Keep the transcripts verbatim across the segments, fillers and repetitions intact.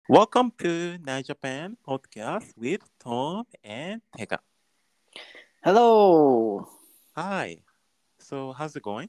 Welcome to Night Japan podcast with Tom and Tega. Hello. Hi. So how's it going?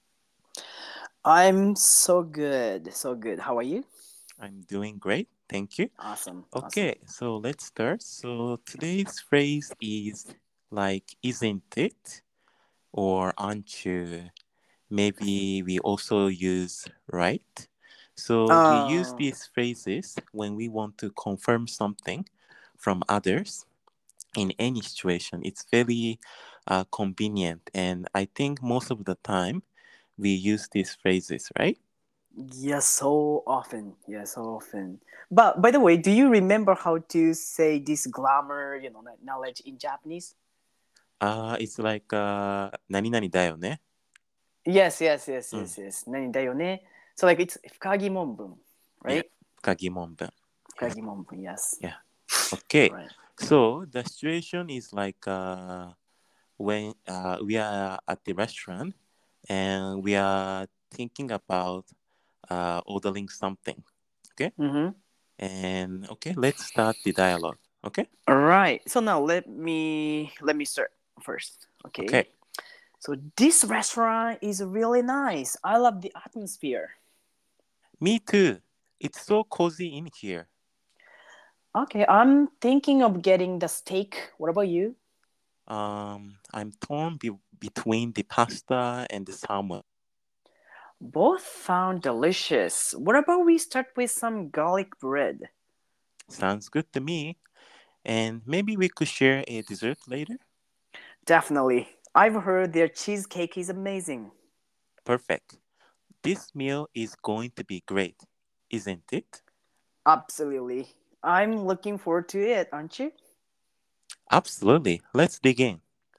I'm so good. So good. How are you? I'm doing great. Thank you. Awesome. Awesome. Okay, so let's start. So today's phrase is like isn't it or aren't you? Maybe we also use right. So we use Uh, these phrases when we want to confirm something from others in any situation. It's very uh, convenient. And I think most of the time we use these phrases, right? yes, so often. Yeah, so often. But by the way, do you remember how to say this glamour, you know, like knowledge in Japanese? Uh, it's like, uh, 何々だよね. Yes, yes, yes, Mm. yes, yes. 何だよね? So like it's 深疑問文, Yeah. right? 深疑問文. 深 Yeah. 疑問文, yes. Yeah. Okay. Right. So the situation is like uh, when uh, we are at the restaurant and we are thinking about uh, ordering something. Okay. Mm-hmm. And okay, let's start the dialogue. Okay. All right. So now let me let me start first. Okay. Okay. So this restaurant is really nice. I love the atmosphere. Me too. It's so cozy in here. Okay, I'm thinking of getting the steak. What about you? Um, I'm torn be- between the pasta and the salmon. Both sound delicious. What about we start with some garlic bread? Sounds good to me. And maybe we could share a dessert later. Definitely. I've heard their cheesecake is amazing. Perfect. This meal is going to be great, isn't it? Absolutely. I'm looking forward to it, aren't you? Absolutely. Let's dig in.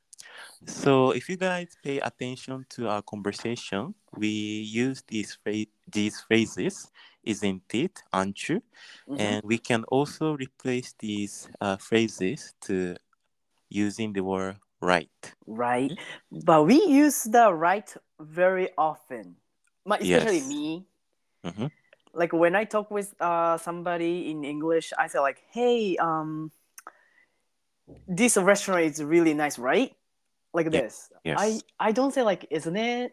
So, if you guys pay attention to our conversation, we use these phra- these phrases, isn't it, aren't you? Mm-hmm. And we can also replace these uh, phrases to using the word right. Right. But we use the right very often. Ma- Especially Yes. me. Mm-hmm. Like when I talk with uh, somebody in English, I say like, hey, um, this restaurant is really nice, right? Like Yeah. this. I Yes. I don't say like isn't it?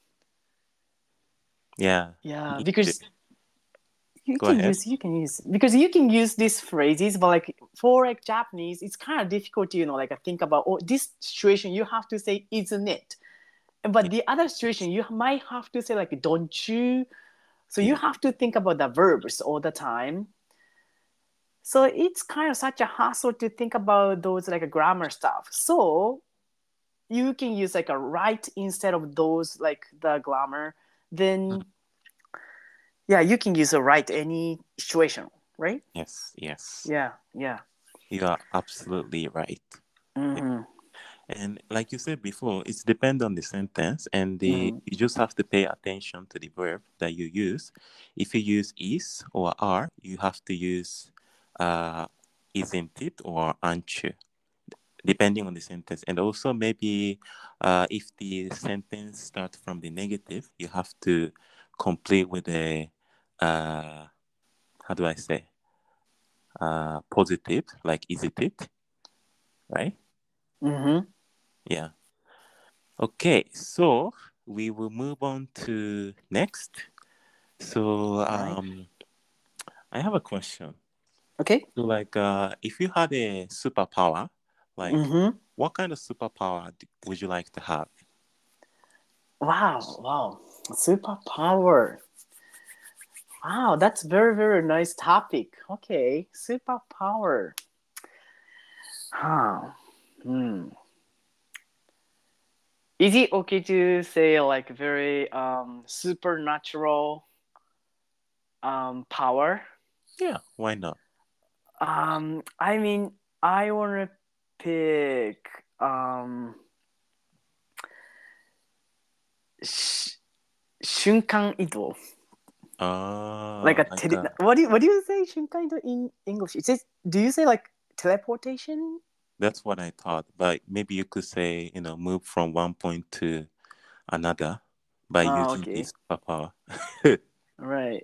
Yeah. Yeah, Me too. because you Go can ahead. use you can use because you can use these phrases, but like for like Japanese, it's kind of difficult to you know like think about oh this situation you have to say isn't it, but Yeah. the other situation you might have to say like don't you. So you Yeah. have to think about the verbs all the time. So it's kind of such a hassle to think about those like grammar stuff. So you can use like a right instead of those like the grammar. Mm. Then yeah, you can use a right any situation, right? Yes. Yes. Yeah, yeah. You are absolutely right. Yeah. Mm-hmm. And like you said before, it's depend on the sentence, and the Mm-hmm. you just have to pay attention to the verb that you use. If you use is or are, you have to use uh, isn't it or aren't you, depending on the sentence. And also maybe uh, if the sentence starts from the negative, you have to complete with a uh, how do I say uh, positive, like is it it, right? Mm-hmm. Yeah. Okay, so we will move on to next. So All right. um, I have a question. Okay. So like, uh, if you had a superpower, like, Mm-hmm. what kind of superpower d- would you like to have? Wow. Wow. Superpower. Wow, that's very very nice topic. Okay, superpower. Huh. Hmm. Is it okay to say like very um supernatural um power? Yeah, why not? Um, I mean, I wanna pick um sh- 瞬間移動. Like Uh, a like, tele- uh, what do you, what do you say 瞬間移動 in English? Is it do you say like teleportation? that's what I thought. But maybe you could say, you know, move from one point to another by Oh, using okay. this superpower. Right.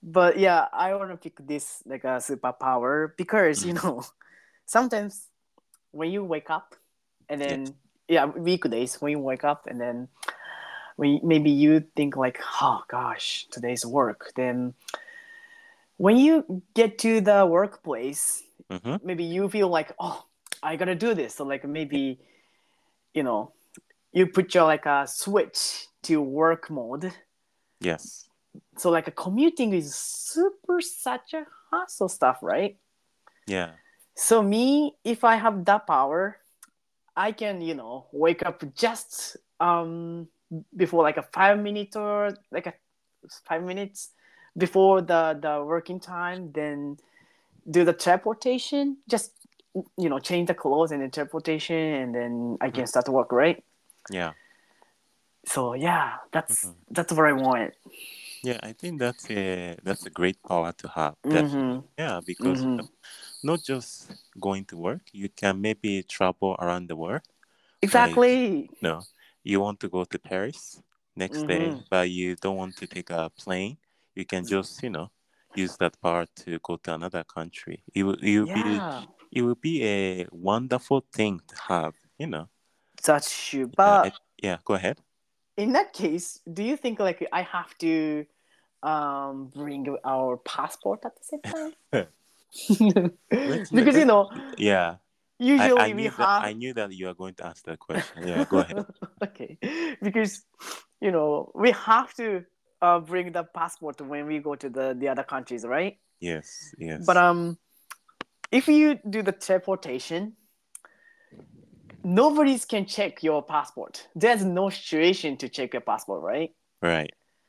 But yeah, I want to pick this like a superpower because you know sometimes when you wake up and Yes. then yeah weekdays when you wake up and then when maybe you think like oh gosh today's work, then when you get to the workplace Mm-hmm. maybe you feel like oh I gotta do this, so like Yeah. maybe you know you put your like a switch to work mode. Yes. So like a commuting is super such a hassle stuff, right? Yeah. So me, if I have that power, I can, you know, wake up just um before like a five minute or like a five minutes before the the working time, then do the teleportation, just you know, change the clothes and then teleportation, and then I Mhm. can start to work, right? Yeah. So yeah, that's Mhm. that's what I want. Yeah, I think that's a that's a great power to have. Definitely. Mm-hmm. Yeah, because you Mm-hmm. know, not just going to work, you can maybe travel around the world. Like, Exactly. you know, you want to go to Paris next day, Mm-hmm. but you don't want to take a plane. You can just, you know, use that power to go to another country. It will, it will be, Yeah, it will be a wonderful thing to have. You know. that's true. Yeah. I, But yeah. Go ahead. in that case, do you think like I have to um bring our passport at the same time? let's let, Because you let's. know, Yeah. I, I usually we knew that I have knew that you are going to ask that question. Yeah, go ahead. okay, because you know we have to uh, bring the passport when we go to the the other countries, right? Yes, But yes. um, if you do the teleportation, nobody can check your passport. There's no situation to check your passport, right? Right.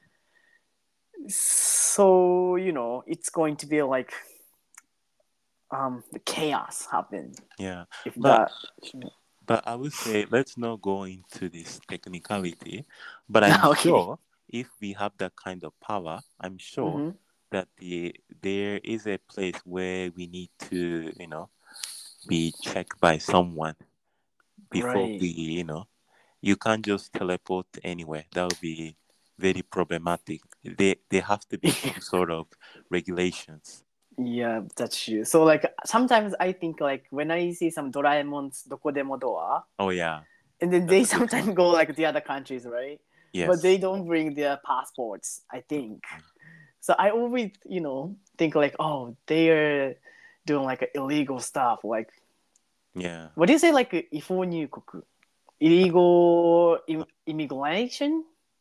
So you know it's going to be like um the chaos happen Yeah. if But that. but I would say let's not go into this technicality. But I'm Okay. sure if we have that kind of power, I'm sure Mm-hmm. that the there is a place where we need to, you know, be checked by someone before we, Right. you know, you can't just teleport anywhere. That would be very problematic. They they have to be some sort of regulations. Yeah, that's true. So like sometimes I think like when I see some Doraemon's Dokodemo Door, Oh yeah, and then that's they a good sometimes one. go like the other countries, right? But they Yes. don't bring their passports, I think. So I always, you know, think like, oh, they're doing like illegal stuff. Like, Yeah. what do you say, like, 違法入国? Illegal im- immigration?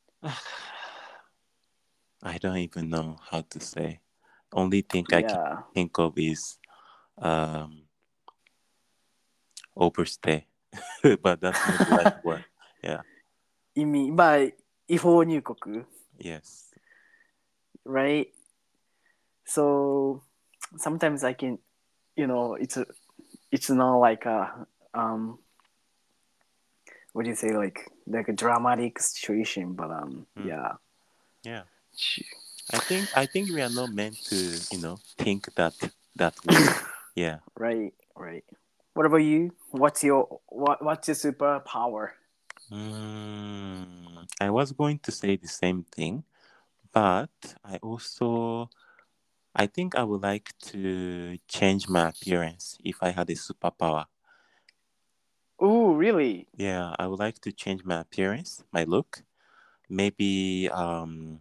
I don't even know how to say. Only thing I can Yeah. think of is um overstay, but that's not the right word. Yeah. 意味、まあ、違法入国 Yes. right? So sometimes I can, you know, it's a, it's not like a um, what do you say, like like a dramatic situation, but um, Mm. yeah, Yeah. I think I think we are not meant to, you know, think that that way. Yeah. right, right. What about you? What's your what what's your superpower? Mm, I was going to say the same thing, but I also I think I would like to change my appearance if I had a superpower. Oh, really? Yeah, I would like to change my appearance, my look. Maybe um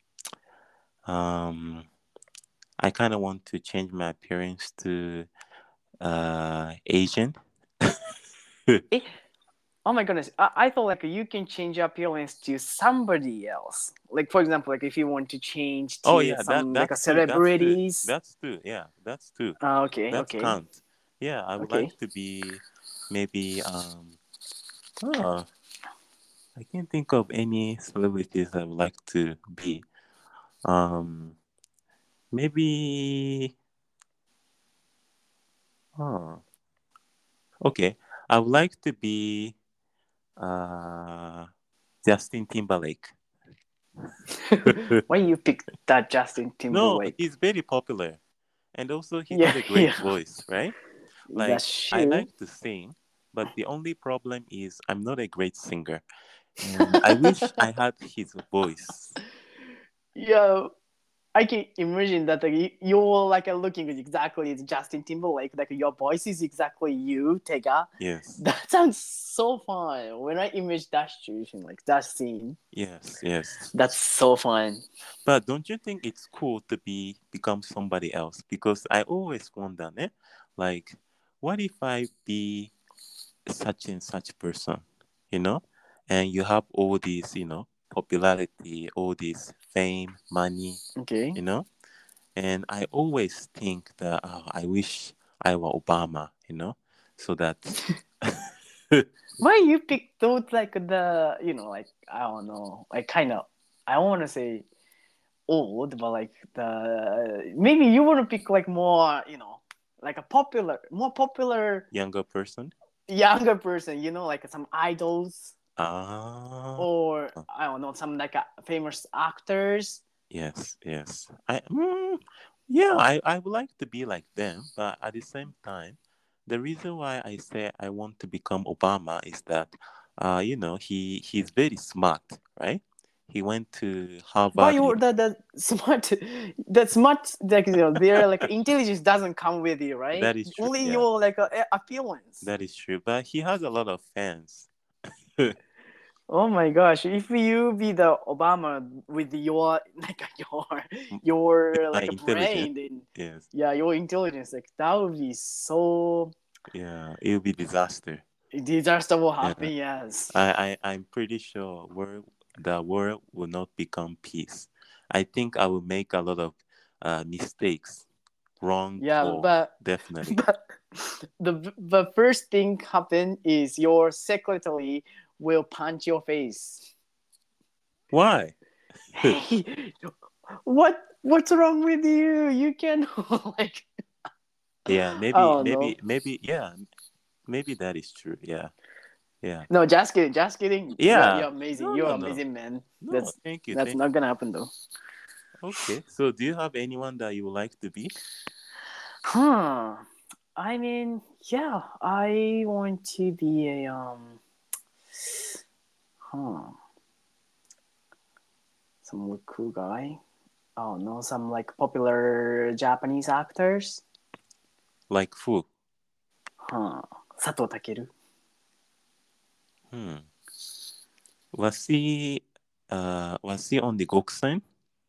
um I kind of want to change my appearance to uh Asian. Eh, oh my goodness! I, I thought like you can change your appearance to somebody else. Like for example, like if you want to change Oh to yeah, that some like a that's too. That's too. celebrities. That's too. Yeah, that's too. Uh, okay, That's okay, count. Yeah, I would okay. like to be maybe um oh, I can't think of any celebrities I would like to be. Um maybe oh okay. I would like to be uh Justin Timberlake. Why you pick that Justin No, Timberlake? he's very popular. And also he Yeah, has a great yeah, voice, right? Like that's I true. like to sing, but the only problem is I'm not a great singer. And I wish I had his voice. Yeah, I can imagine that like, you're like looking exactly as Justin Timberlake, like your voice is exactly you, Tega. Yes. That sounds so fun. When I image that situation, like that scene, Yes, yes. that's so fun. But don't you think it's cool to be become somebody else? Because I always wonder, eh? Like, what if I be such and such person, you know? And you have all these, you know, popularity, all this fame, money, Okay. you know? And I always think that oh, I wish I were Obama, you know, so that Why you pick those like the you know like I don't know like kind of I don't want to say old but like the maybe you want to pick like more you know like a popular more popular younger person. younger person you know like some idols Ah, or I don't know some like uh, famous actors. yes, yes. I mm, yeah, I I would like to be like them, but at the same time, the reason why I say I want to become Obama is that, uh, you know, he he's very smart, right? He went to But Harvard. you the the smart the smart like you know their like intelligence doesn't come with you right That is true. only Yeah, your like uh, appearance. that is true. But he has a lot of fans. Oh my gosh! If you be the Obama with your like your With your my like a intelligence, brain, then yes, yeah, your intelligence like that would be so yeah, it will be disaster. disaster will Yeah, happen. Yes. I, I, I'm pretty sure world, the world will not become peace. I think I will make a lot of uh, mistakes, wrong Yeah, or but definitely. but the the first thing happen is your secretary will punch your face. Why? Hey, what what's wrong with you? You can like Yeah, I maybe, don't know. maybe, maybe, yeah, maybe that is true. Yeah, yeah, No, just kidding, just kidding. You're yeah. you're amazing. No, You're no, no, amazing, man. no. That's Thank you, that's thank. not gonna happen though. Okay, so do you have anyone that you would like to be? Huh. I mean, yeah, I want to be a um huh. Some cool guy. Oh no, some like popular Japanese actors. Like who? Huh. Sato Takeru. Hmm. Was he, uh, was he on the Goksen?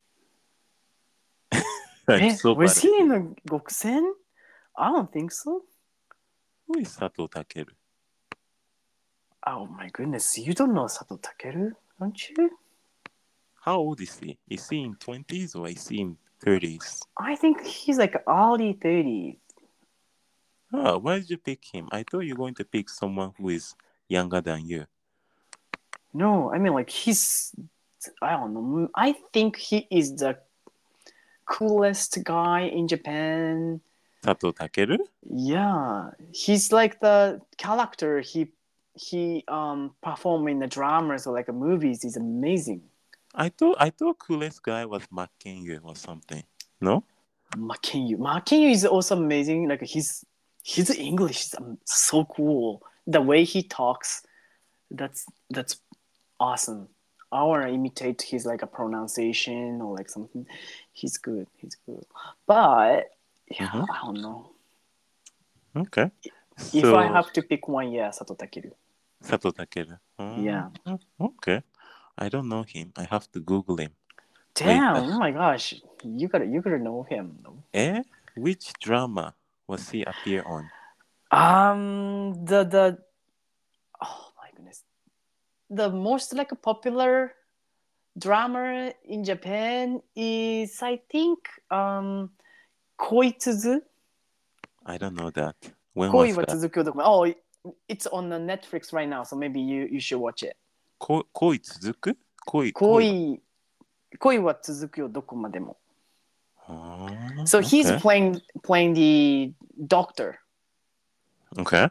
I'm Eh, so was bad he at in it. the Gokusen? I don't think so. Who is Sato Takeru? Oh my goodness, you don't know Sato Takeru, don't you? How old is he? Is he in twenties or is he in thirties? I think he's like early thirties. Oh, why did you pick him? I thought you were going to pick someone who is younger than you. No, I mean like he's I don't know. I think he is the coolest guy in Japan. Sato Takeru? Yeah, he's like the character he he um perform in the dramas or like movies is amazing. I thought I thought coolest guy was Makenyu or something. No? Makenyu, Makenyu is also amazing. Like his his English is um, so cool. The way he talks, that's that's awesome. I want to imitate his like a pronunciation or like something. He's good. He's good. But yeah, Mm-hmm. I don't know. Okay. If I So have to pick one, yeah, Sato Takeru. Sato Takeru. Mm, Yeah. okay. I don't know him. I have to Google him. Wait. Damn! Oh my gosh, you gotta you gotta know him. Eh? Which drama was he appear on? Um, the the oh my goodness, the most like popular drama in Japan is I think um Koitsuzu. I don't know that. When 恋 was は that? 続くよ document. Oh, it's on the Netflix right now, so maybe you you should watch it. こ恋続く恋恋は。 恋恋は続くよどこまでも。 Ah, So he's okay. playing playing the doctor, Okay.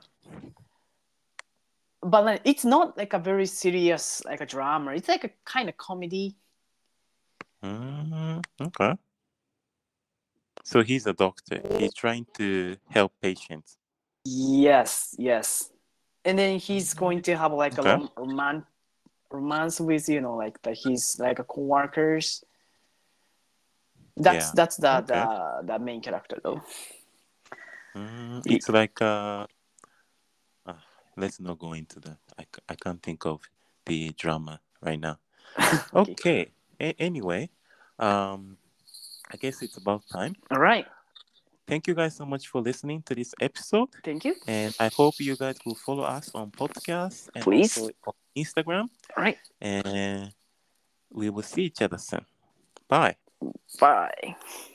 but like, it's not like a very serious like a drama. It's like a kind of comedy. Mm, okay. So he's a doctor. He's trying to help patients. Yes, yes. And then he's going to have like a Okay. rom- roman- romance with you know like the his like a coworkers. That's Yeah. that's the Okay. the the main character though. Mm, it's like uh, uh, let's not go into that. I, c- I can't think of the drama right now. Okay. Okay. A- anyway, um, I guess it's about time. All right. Thank you guys so much for listening to this episode. Thank you. And I hope you guys will follow us on podcasts and Please. also on Instagram. All right. And we will see each other soon. Bye. Bye.